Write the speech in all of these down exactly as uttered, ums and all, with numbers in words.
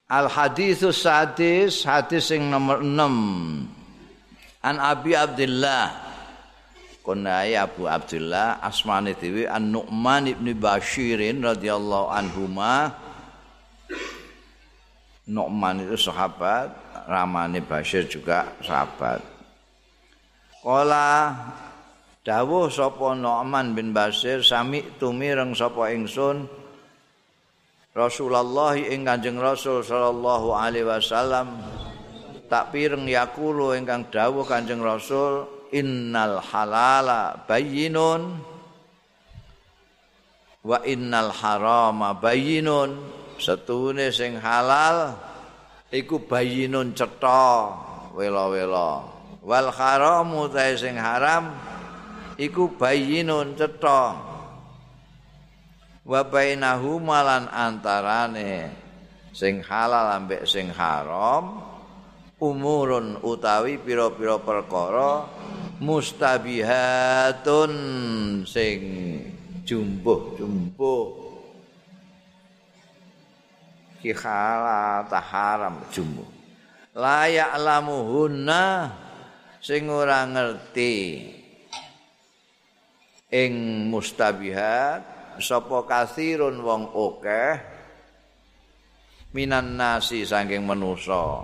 Al haditsus sadis, hadis sing nomor enam. An Abi Abdullah kunai Abu Abdullah asmane dhewe An Nu'man ibn Bashir radhiyallahu anhuma. Nu'man itu sahabat, ramane Bashir juga sahabat. Qala dawuh sapa Nu'man bin Bashir sami tumireng sapa ingsun Rasulullah ing Kanjeng Rasul sallallahu alaihi wasallam tak pireng yakulu ingkang dawuh Kanjeng Rasul innal halala bayyinun wa innal harama bayyinun setune sing halal iku bayyinun cetha wela-wela wal haramu ta sing haram iku bayyinun cetha wa bainahuma lan antarane sing halal ambek sing haram umurun utawi pira-pira perkara mustabihatun sing jumbuh-jumbuh ki halal ta haram jumbuh la ya'lamuhunna sing ora ngerti ing mustabihat sapa kasirun wong akeh minan nasi saking manusa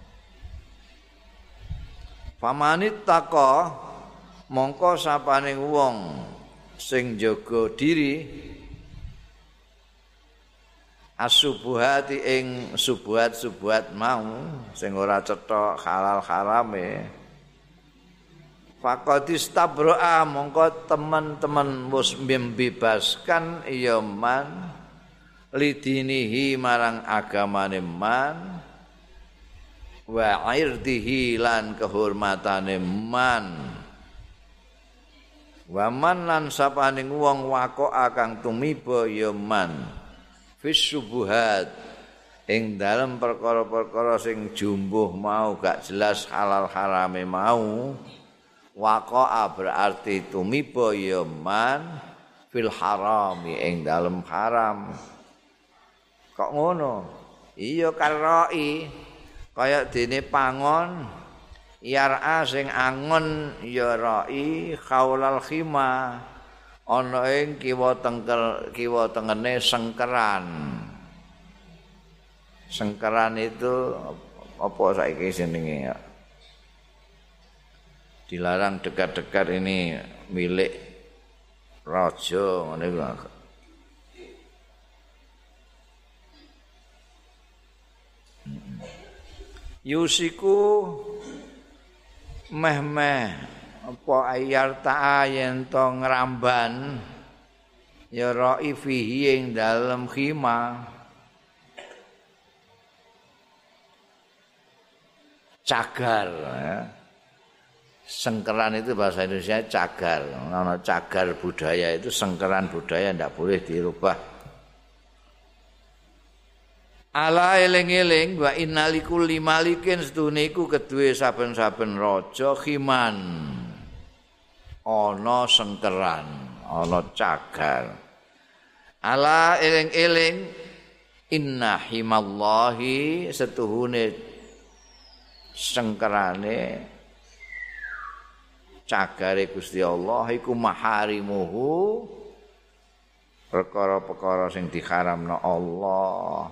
pamanit taka mongko sapaning wong sing jaga diri asubuhati ing subuhat-subuhat mau sing ora cetha halal harame faqadis tabro'a mongko teman-teman wis membebaskan ya man lidinihi marang agamane man wa irdihi lan kehormatane man wa man lan sapaning wong waqa kang tumiba ya man fis subuhat ing dalem perkara-perkara sing jumbuh mau gak jelas halal harame mau waqa'a berarti tumiba ya man fil harami ing dalem haram. Kok ngono? Iya karoi kaya dene pangon yar'a sing angon ya roi khaulal khima ana ing kiwa tengkel kiwa tengene sengkeran. Sengkeran itu apa saiki jenenge ya? Dilarang dekat-dekat ini milik raja ngene iku. Yusiku meh-meh apa ayar ta'a yen to ngramban ya ra'i fihi ing dalem khima cagar ya. Sengkeran itu bahasa Indonesia cagar. Nama cagar budaya itu sengkeran budaya tidak boleh dirubah. Ala eling-eling wa innalikul limalikin sedune iku kedue saben-saben raja khiman. Ana sengkeran, ana cagar. Ala eling-eling inna himallahi setuhune sengkerane cagare Gusti Allah iku maharimuhu perkara-perkara sing diharamno Allah.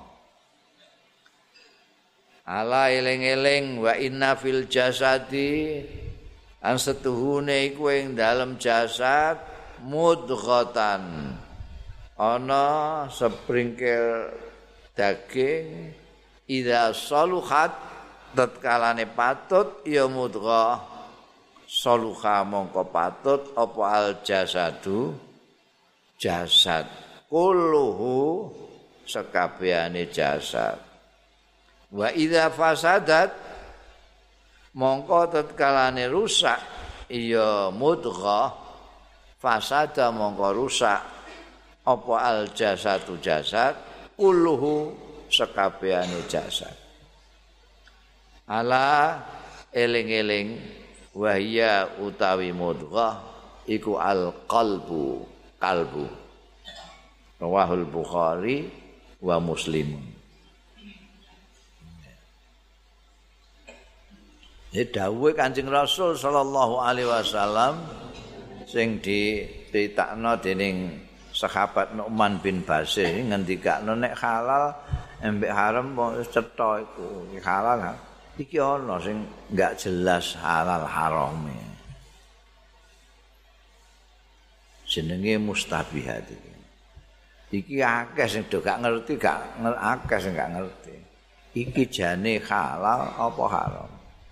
Ala eling-eling wa inna fil jasadi an setuhune iku ing dalem jasad mudghatan ana sepringkil daging idza saluhat tatkalane patut ya mudghah saluha mongko patut apa al jasadu jasad kulluhu sekabehane jasad wa idza fasadat mongko tatkalane rusak ya mudghah fasada mongko rusak apa al jasadu jasad kulluhu sekabehane jasad ala eling-eling wahya utawi mudghah iku al qalbu kalbu rawahul Bukhari wa Muslim. Ya dawuhe Kanjeng Rasul sallallahu alaihi wasallam sing diceritakno dening sahabat Nu'man bin Bashir ngendikakno nek halal embek haram wis cetha iku halal iki ana sing enggak jelas halal harame jenenge mustabihat iki iki akeh sing do gak ngerti gak akeh sing gak ngerti iki jane halal apa haram.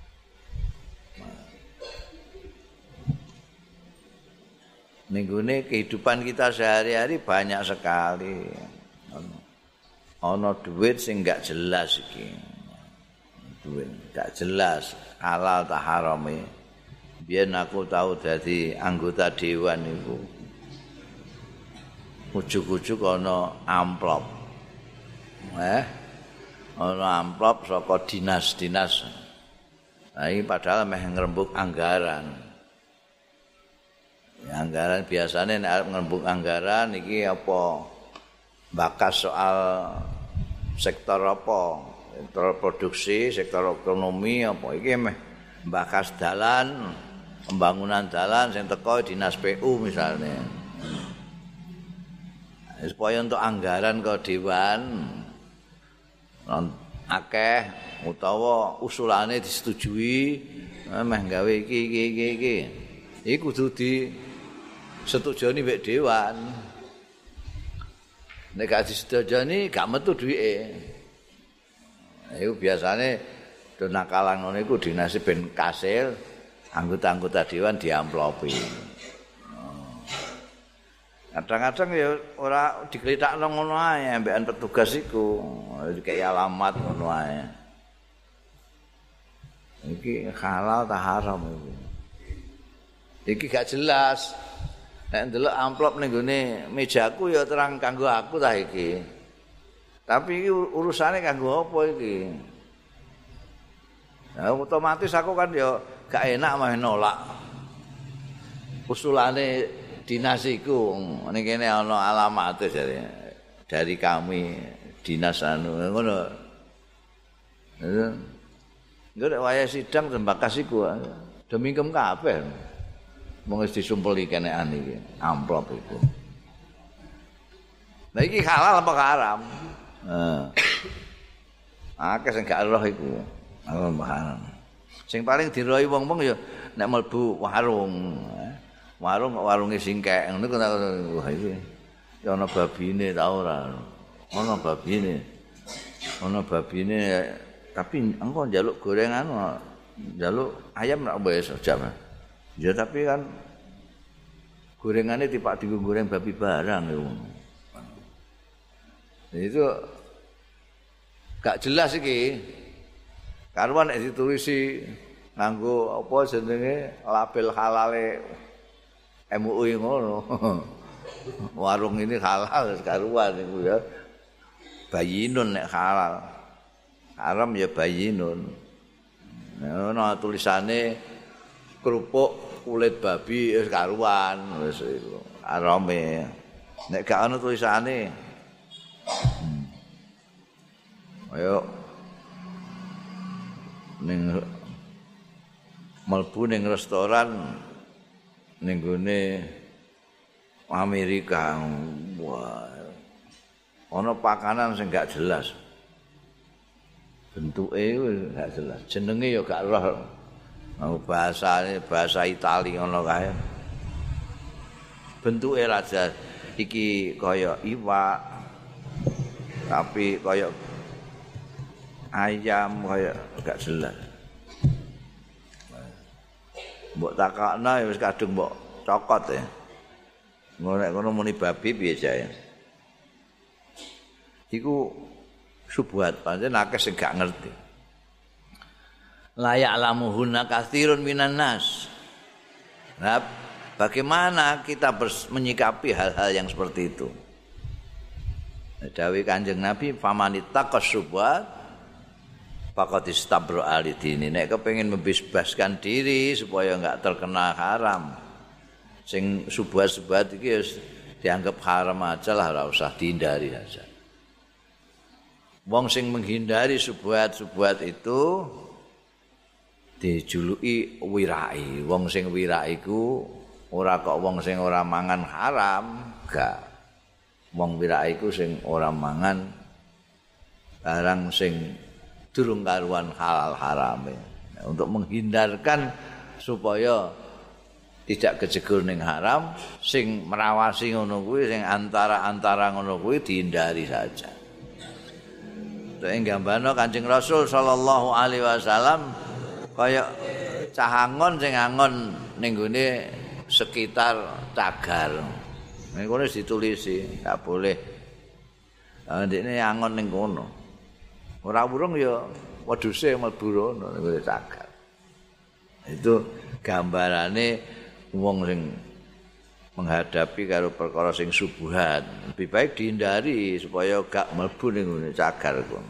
Nenggone kehidupan kita sehari-hari banyak sekali. Ana duit sing enggak jelas iki. Duit enggak jelas halal ta harame. Biyen aku tahu dadi anggota dewan iku. Ujug-ujug ana amplop. Eh, ana amplop saka dinas-dinas. Nah, ini padahal meh ngrembug anggaran. Ya, anggaran biasanya nek ngrembug anggaran iki apa bakas soal sektor apa sektor produksi sektor ekonomi apa iki meh bakas dalan pembangunan dalan sing teko dinas P U misalnya supaya untuk anggaran ke dewan akeh utawa usulane disetujui meh gawe iki iki iki iki iki kudu di setujoni mbek dewan. Nek gak disetujoni gak metu duwike. Iku biasane do nakalan ngono iku dinase ben kasil, anggota-anggota dewan diamplopi. Kadang-kadang ya ora digletakno ngono ae ambekan petugas iku, dikek alamat ngono ae. Iki halal ta haram iki. Iki gak jelas. Nek ndelok amplop ning gone mejaku ya terang kanggo aku ta iki. Tapi iki urusane kanggo apa iki? Nah, otomatis aku kan ya gak enak mah nolak. Usulane dinas iku ning kene ana alamate jare dari kami dinas anu ngono. Engko nek wayah sidang tembakas iku demingkem kabeh. Wong wis disumpeli kenekan iki, amplop iku. Lah iki halal apa haram? Heeh. Akeh sing gak roh iku. Halal apa haram. Sing paling diroi wong-wong ya nek mlebu warung. Warung kok warunge singkek ngono kok wah iki. Ya ana babine ta ora? Ana babine. Ana babine tapi engko njaluk gorengan njaluk ayam nek wis jam. Ya tapi kan gorengannya tipak digo goreng babi barang itu. Itu gak jelas iki. Karuan nek ditulisi nganggo apa jenenge label halale M U I ngono. Warung ini halal karuan iku ya. Bayinun nek halal. Haram ya bayinun. Nah, ono tulisane kerupuk kulit babi wis karuan wis iku arame nek gak ana tulisane hmm. Ayo ning mlebu ning restoran ning gone Amerika wah ana pakanan sing gak jelas bentuke gak jelas jenenge ya gak roh. Oh, bahasa bahasa Itali ngono kae. Bentuke raja iki kaya iwak tapi kaya ayam kaya gak jelas. Mbok takakno wis kadung mbok cokot ya. Ngono nek ngono muni babi piye jae. Iku subuhat pancen akeh sing gak ngerti. La ya'lamuhunna katsirun minan nas. Nah, bagaimana kita menyikapi hal-hal yang seperti itu? Dawuh Kanjeng Nabi, "Famanittaqas syubhat faqad istabra alidini." Nek kepengin membebaskan diri supaya enggak terkena haram. Sing syubhat-syubhat iki wis dianggap haram aja lah, ora usah dihindari aja. Wong sing menghindari syubhat-syubhat itu dijuluki wirai. Wong sing wirai iku ora kok wong sing ora mangan haram, gak. Wong wirai iku sing ora mangan barang sing durung karuan halal harame. Nah, untuk menghindarkan supaya tidak kejegur ning haram, sing merawasi ngono kuwi, sing antara-antara ngono kuwi dihindari saja. Nek gambano Kanjeng Rasul sallallahu alaihi wasallam kaya cahangon sing angon ning gone sekitar cagar. Ning kono ditulisi, enggak boleh. Lah ndekne angon ning kono. Ora wurung ya wedhuse mlebu rono ning gone cagar. Itu gambarane wong sing menghadapi karo perkara sing subuhat, lebih baik dihindari supaya gak mlebu ning ngene cagar ku.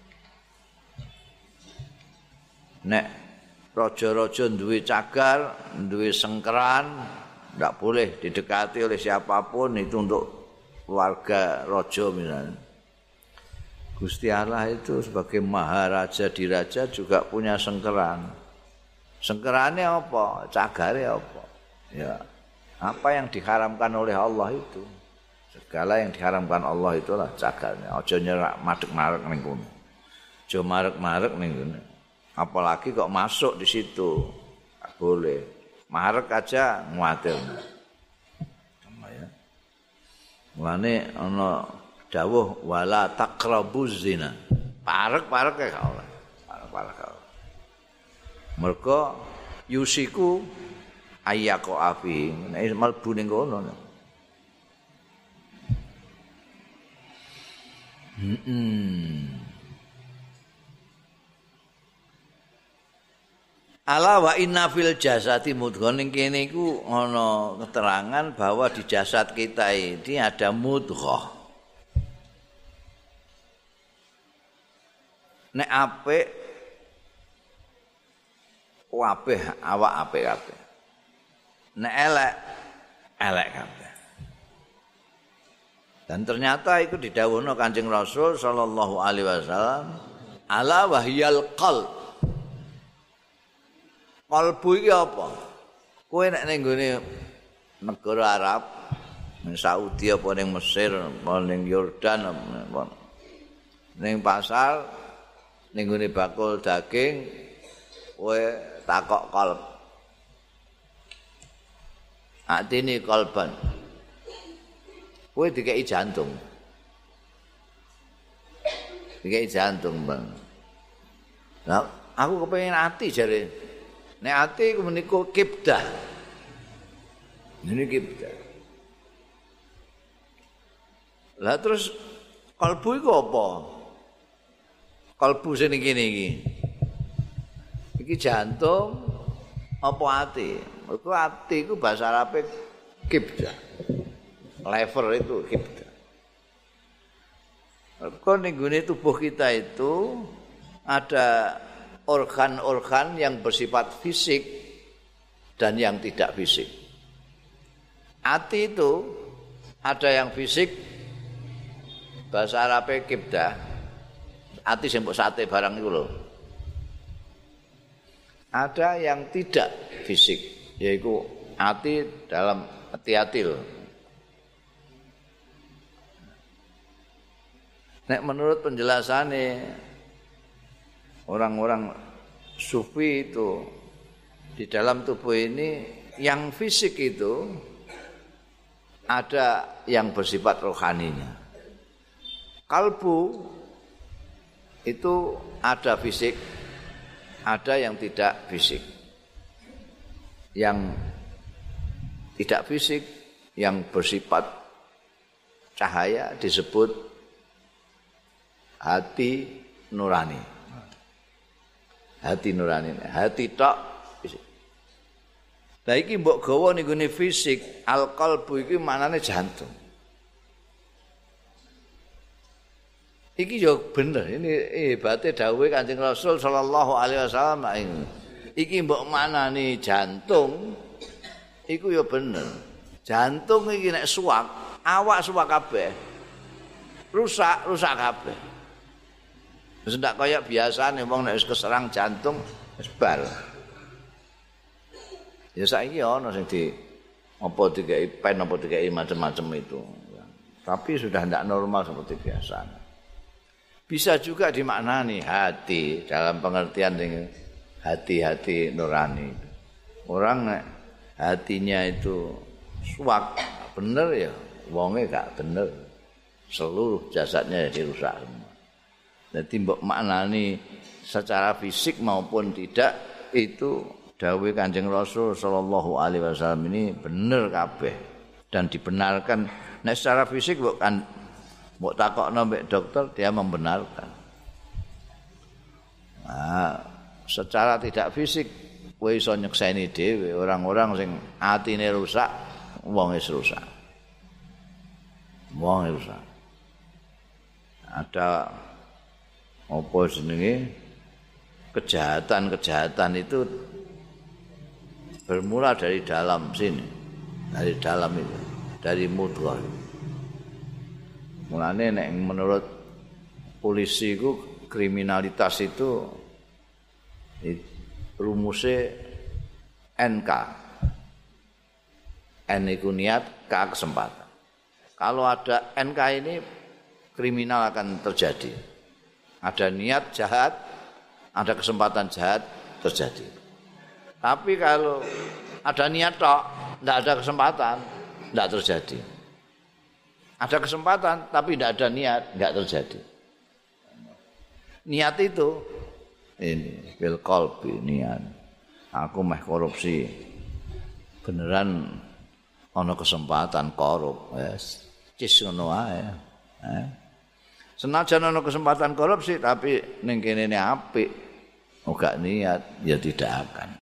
Nek raja-raja duwe cagar, duwe sengkeran, ndak boleh didekati oleh siapapun, itu untuk keluarga raja misalnya. Gusti Allah itu sebagai maharaja diraja juga punya sengkeran. Sengkerannya apa? Cagare apa? Ya, apa yang diharamkan oleh Allah itu. Segala yang diharamkan Allah itulah cagarnya. Aja nyerak madeg-mareg ning kono. Aja mareg-mareg ning kono. Apalagi kok masuk di situ. Enggak boleh. Mareg aja nguatir. Sama ya. Mulane ana dawuh wala taqrabuz zina. Parek-parek ya gak oleh. Parek-parek. Mergo yusiku ayyako afi, nek mlebu ning kono. Heeh. Ala wa inna fil jasati mudghah, ning kene iku ana keterangan bahwa di jasad kita ini ada mudghah. Nek apik kabeh awak apik kabeh. Nek elek, elek kabeh. Dan ternyata itu didhawuhna Kanjeng Rasul sallallahu alaihi wasallam, ala wahyal qalb. Kalbu iki apa? Kowe nek ning gone negara Arab, ning Saudi apa ning Mesir, apa ning Yordan apa ning pasar, ning gone bakul daging, kowe takok kalb. Atine kalban. Kowe dikeki jantung. Dikeki jantung, Bang. Nah, aku kepengin ati jare. Nek ati ku menika kibdah. Ini kibdah. Lah terus kalbu iku apa? Kalbu sing ngene iki. Iki jantung apa ati? Mergo ati iku bahasa Arabe kibdah. Lever itu kibdah. Mergo ning gone tubuh kita itu ada organ-organ yang bersifat fisik dan yang tidak fisik. Ati itu ada yang fisik, bahasa Arabe kibdah. Ati sing mbok sate barang iku lho. Ada yang tidak fisik, yaitu ati dalam hati-hati loh. Nek menurut penjelasannya orang-orang sufi itu di dalam tubuh ini yang fisik itu ada yang bersifat rohaninya. Kalbu itu ada fisik, ada yang tidak fisik. Yang tidak fisik, yang bersifat cahaya disebut hati nurani. Hati nurani, hati tok fisik. Lah iki mbok gawa ning gone fisik, al-qalbu iki maknane jantung. Iki yo bener, ini hebate dawuhe Kanjeng Rasul sallallahu alaihi wasallam. Iki mbok manani jantung, iku yo bener. Jantung iki nek suwak, awak suwak kabeh. Rusak, rusak kabeh. Wis ndak kaya biasane wong nek wis keserang jantung wis bar. Ya saiki ana sing di apa dikai pen apa dikai macam-macam itu. Tapi sudah tidak normal seperti biasa. Bisa juga dimaknani hati dalam pengertian dengan hati-hati nurani. Orang hatinya itu suwak bener ya, wonge gak bener. Seluruh jasadnya dirusak semua. Jadi mbok maknani secara fisik maupun tidak itu dawuh Kanjeng Rasul sallallahu alaihi wasallam ini bener kabeh dan dibenarkan. Nek secara fisik mbok kan mbok takokno mbek dokter dia membenarkan. Nah, secara tidak fisik kowe iso nyekseni dhewe orang-orang sing atine rusak, wong wis rusak. Wong rusak. Ada apa jenenge kejahatan-kejahatan itu bermula dari dalam sini, dari dalam itu, dari mudghah. Mulane nek menurut polisi itu kriminalitas itu rumusnya N K. N itu niat, K kesempatan. Kalau ada N K ini kriminal akan terjadi. Ada niat jahat, ada kesempatan jahat terjadi. Tapi kalau ada niat tok, tidak ada kesempatan, tidak terjadi. Ada kesempatan tapi tidak ada niat, enggak terjadi. Niat itu ini bil qalbi niat. Aku meh korupsi. Beneran ana kesempatan korup, wes. Cis ngono ae. Eh. Senajan ana kesempatan korupsi tapi ning kene apik, ora niat ya tidak akan.